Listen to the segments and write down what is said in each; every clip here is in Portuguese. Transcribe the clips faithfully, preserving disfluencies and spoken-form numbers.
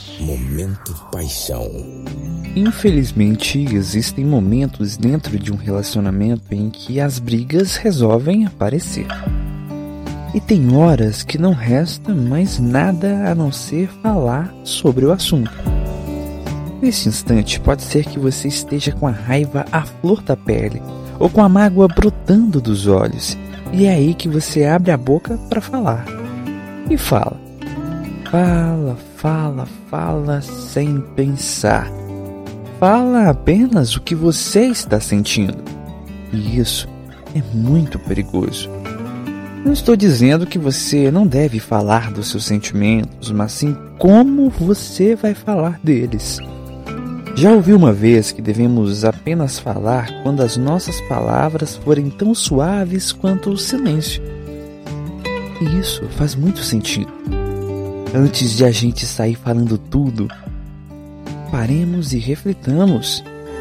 Momento paixão. Infelizmente, existem momentos dentro de um relacionamento em que as brigas resolvem aparecer. E tem horas que não resta mais nada a não ser falar sobre o assunto. Nesse instante, pode ser que você esteja com a raiva à flor da pele ou com a mágoa brotando dos olhos. E é aí que você abre a boca para falar. E fala. Fala, fala, fala sem pensar. Fala apenas o que você está sentindo. E isso é muito perigoso. Não estou dizendo que você não deve falar dos seus sentimentos, mas sim como você vai falar deles. Já ouvi uma vez que devemos apenas falar quando as nossas palavras forem tão suaves quanto o silêncio. E isso faz muito sentido. Antes de a gente sair falando tudo, paremos e reflitamos.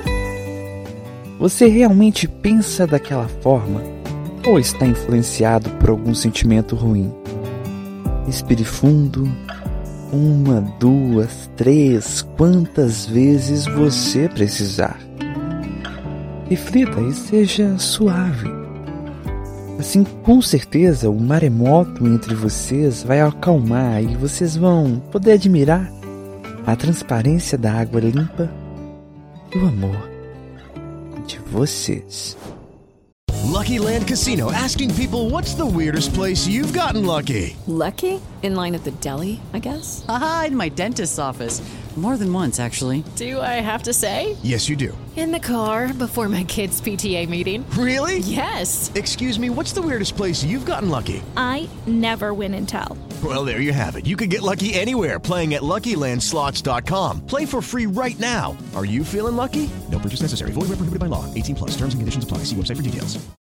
Você realmente pensa daquela forma ou está influenciado por algum sentimento ruim? Respire fundo. Uma, duas, três, quantas vezes você precisar. Reflita e seja suave. Assim, com certeza, o maremoto entre vocês vai acalmar e vocês vão poder admirar a transparência da água limpa e o amor de vocês. Lucky Land Casino, asking people, what's the weirdest place you've gotten lucky? Lucky? In line at the deli, I guess? Aha, in my dentist's office. More than once, actually. Do I have to say? Yes, you do. In the car before my kids' P T A meeting. Really? Yes. Excuse me, what's the weirdest place you've gotten lucky? I never win and tell. Well, there you have it. You can get lucky anywhere, playing at Lucky Land Slots dot com. Play for free right now. Are you feeling lucky? No purchase necessary. Void where prohibited by law. eighteen plus. Terms and conditions apply. See website for details.